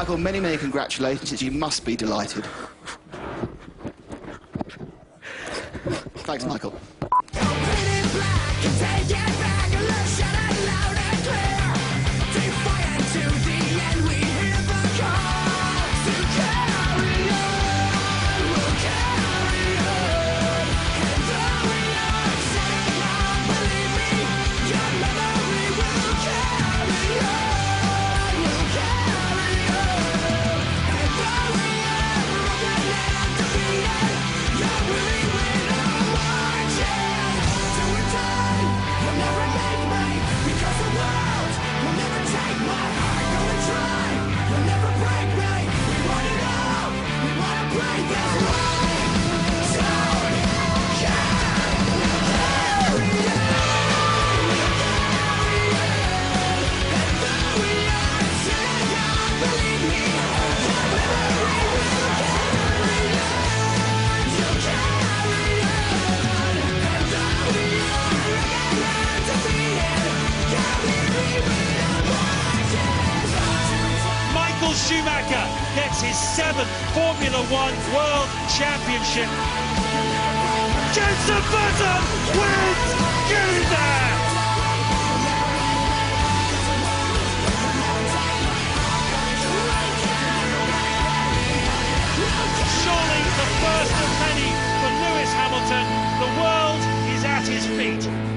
Michael, many, many congratulations. You must be delighted. Thanks, Michael. Michael Schumacher gets his 7th Formula One World Championship. Jenson Button wins! Get in there! Surely the first of many for Lewis Hamilton. The world is at his feet.